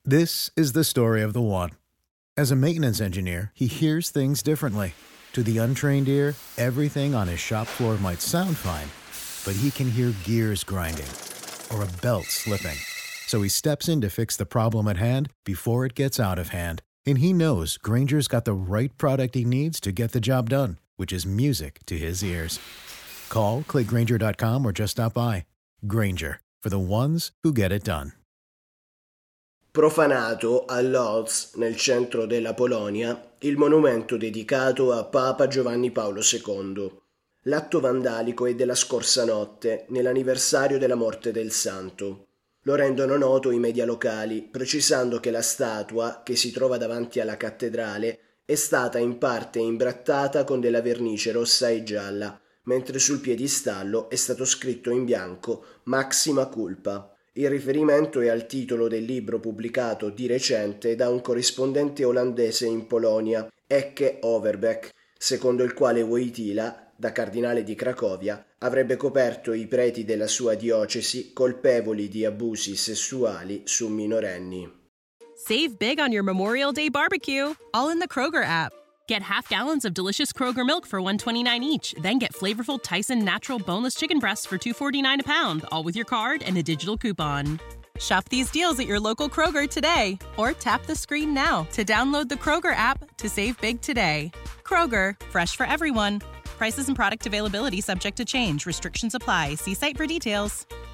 This is the story of the one. As a maintenance engineer, he hears things differently. To the untrained ear, everything on his shop floor might sound fine, but he can hear gears grinding or a belt slipping. So he steps in to fix the problem at hand before it gets out of hand. And he knows Grainger's got the right product he needs to get the job done, which is music to his ears. Call, click Grainger.com or just stop by. Grainger, for the ones who get it done. Profanato a Lodz, nel centro della Polonia, il monumento dedicato a Papa Giovanni Paolo II. L'atto vandalico è della scorsa notte, nell'anniversario della morte del santo. Lo rendono noto i media locali, precisando che la statua, che si trova davanti alla cattedrale, è stata in parte imbrattata con della vernice rossa e gialla, mentre sul piedistallo è stato scritto in bianco Maxima Culpa. Il riferimento è al titolo del libro pubblicato di recente da un corrispondente olandese in Polonia, Ecke Overbeck, secondo il quale Wojtyla, da cardinale di Cracovia, avrebbe coperto i preti della sua diocesi colpevoli di abusi sessuali su minorenni. Save big on your Memorial Day barbecue, all in the Kroger app. Get half gallons of delicious Kroger milk for $1.29 each. Then get flavorful Tyson natural boneless chicken breasts for $2.49 a pound, all with your card and a digital coupon. Shop these deals at your local Kroger today, or tap the screen now to download the Kroger app to save big today. Kroger, fresh for everyone. Prices and product availability subject to change. Restrictions apply. See site for details.